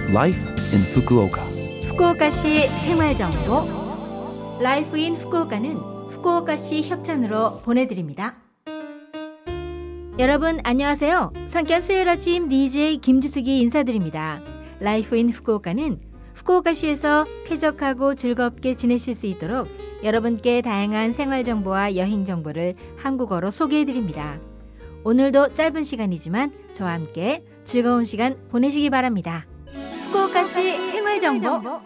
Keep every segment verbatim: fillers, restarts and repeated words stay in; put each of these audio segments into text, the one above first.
Life in Fukuoka. 후쿠오카시 생활정보 라이프 인 후쿠오카는 후쿠오카시 협찬으로 보내드립니다. 여러분 안녕하세요. 상쾌한 수요일 아침 디제이 김지숙이 인사드립니다. 라이프 인 후쿠오카는 후쿠오카시에서 쾌적하고 즐겁게 지내실 수 있도록 여러분께 다양한 생활정보와 여행정보를 한국어로 소개해드립니다. 오늘도 짧은 시간이지만 저와 함께 즐거운 시간 보내시기 바랍니다. 후쿠오카시 생활정보.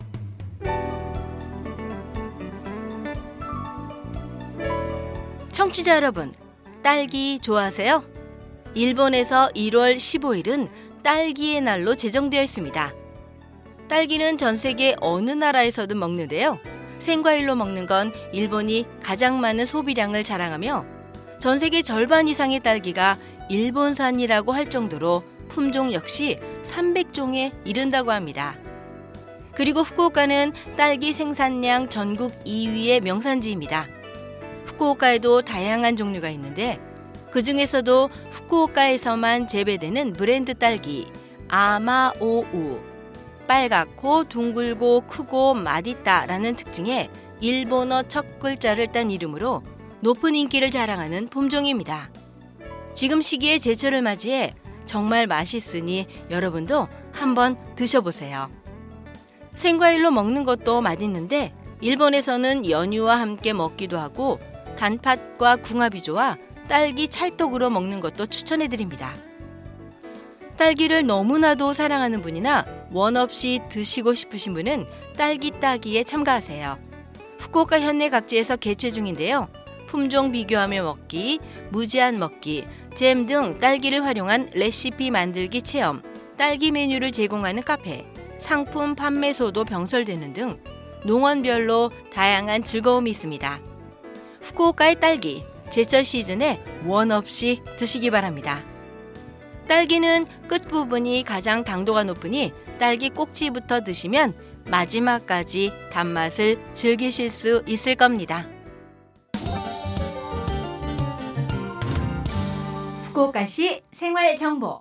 청취자 여러분, 딸기 좋아하세요? 일본에서 일월 십오일은 딸기의 날로 제정되어 있습니다. 딸기는 전 세계 어느 나라에서도 먹는데요. 생과일로 먹는 건 일본이 가장 많은 소비량을 자랑하며 전 세계 절반 이상의 딸기가 일본산이라고 할 정도로 품종 역시 삼백 종에 이른다고 합니다. 그리고 후쿠오카는 딸기 생산량 전국 이 위의 명산지입니다. 후쿠오카에도 다양한 종류가 있는데 그 중에서도 후쿠오카에서만 재배되는 브랜드 딸기 아마오우, 빨갛고 둥글고 크고 맛있다라는 특징의 일본어 첫 글자를 딴 이름으로 높은 인기를 자랑하는 품종입니다. 지금 시기에 제철을 맞이해 정말 맛있으니 여러분도 한번 드셔보세요. 생과일로 먹는 것도 맛있는데 일본에서는 연유와 함께 먹기도 하고 단팥과 궁합이 좋아 딸기 찰떡으로 먹는 것도 추천해드립니다. 딸기를 너무나도 사랑하는 분이나 원 없이 드시고 싶으신 분은 딸기 따기에 참가하세요. 후쿠오카 현내 각지에서 개최 중인데요. 품종 비교하며 먹기, 무제한 먹기, 잼 등 딸기를 활용한 레시피 만들기 체험, 딸기 메뉴를 제공하는 카페, 상품 판매소도 병설되는 등 농원별로 다양한 즐거움이 있습니다. 후쿠오카의 딸기, 제철 시즌에 원 없이 드시기 바랍니다. 딸기는 끝부분이 가장 당도가 높으니 딸기 꼭지부터 드시면 마지막까지 단맛을 즐기실 수 있을 겁니다. 후쿠오카시 생활정보.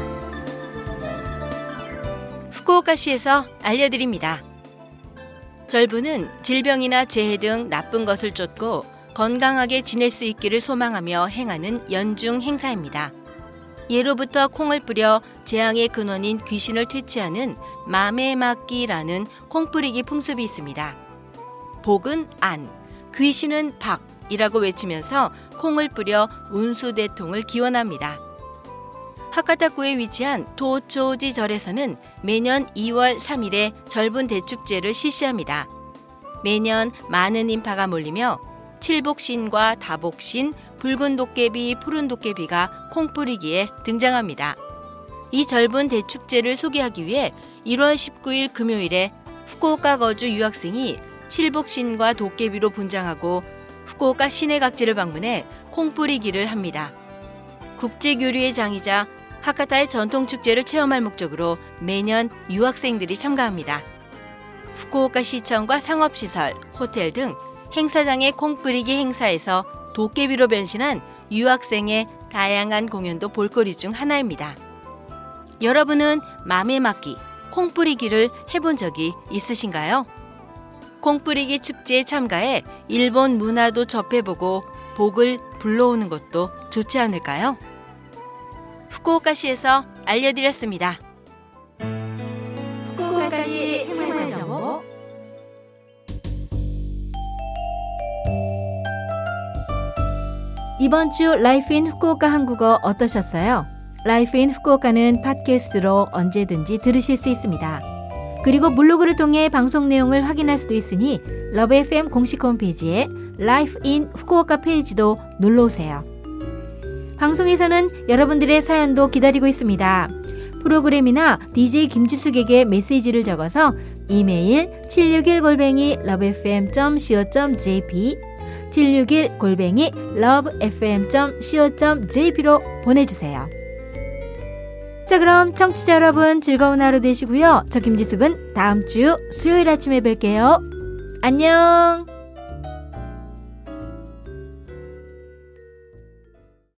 후쿠오카시에서 알려드립니다. 절부는 질병이나 재해 등 나쁜 것을 쫓고 건강하게 지낼 수 있기를 소망하며 행하는 연중 행사입니다. 예로부터 콩을 뿌려 재앙의 근원인 귀신을 퇴치하는 마메마끼라는 콩 뿌리기 풍습이 있습니다. 복은 안, 귀신은 박이라고 외치면서 콩을 뿌려 운수대통을 기원합니다. 하카타쿠에 위치한 도초지 절에서는 매년 이월 삼일에 절분 대축제를 실시합니다. 매년 많은 인파가 몰리며 칠복신과 다복신, 붉은 도깨비, 푸른 도깨비가 콩 뿌리기에 등장합니다. 이 절분 대축제를 소개하기 위해 일월 십구일 금요일에 후쿠오카 거주 유학생이 칠복신과 도깨비로 분장하고 후쿠오카 시내 각지를 방문해 콩 뿌리기를 합니다. 국제교류의 장이자 하카타의 전통축제를 체험할 목적으로 매년 유학생들이 참가합니다. 후쿠오카 시청과 상업시설, 호텔 등 행사장의 콩 뿌리기 행사에서 도깨비로 변신한 유학생의 다양한 공연도 볼거리 중 하나입니다. 여러분은 마메마끼, 콩 뿌리기를 해본 적이 있으신가요? 콩 뿌리기 축제에 참가해 일본 문화도 접해보고 복을 불러오는 것도 좋지 않을까요? 후쿠오카시에서 알려드렸습니다. 후쿠오카시 생활정보. 이번 주 라이프 인 후쿠오카 한국어 어떠셨어요? 라이프 인 후쿠오카는 팟캐스트로 언제든지 들으실 수 있습니다. 그리고 블로그를 통해 방송 내용을 확인할 수도 있으니 러브 에프엠 공식 홈페이지에 라이프 인 후쿠오카 페이지도 놀러오세요. 방송에서는 여러분들의 사연도 기다리고 있습니다. 프로그램이나 디제이 김지숙에게 메시지를 적어서 이메일 칠육일 골뱅이 러브에프엠 닷 씨오 닷 제이피 칠육일 골뱅이 러브에프엠 닷 씨오 닷 제이피로 보내주세요. 자, 그럼 청취자 여러분 즐거운 하루 되시고요. 저 김지숙은 다음 주 수요일 아침에 뵐게요. 안녕.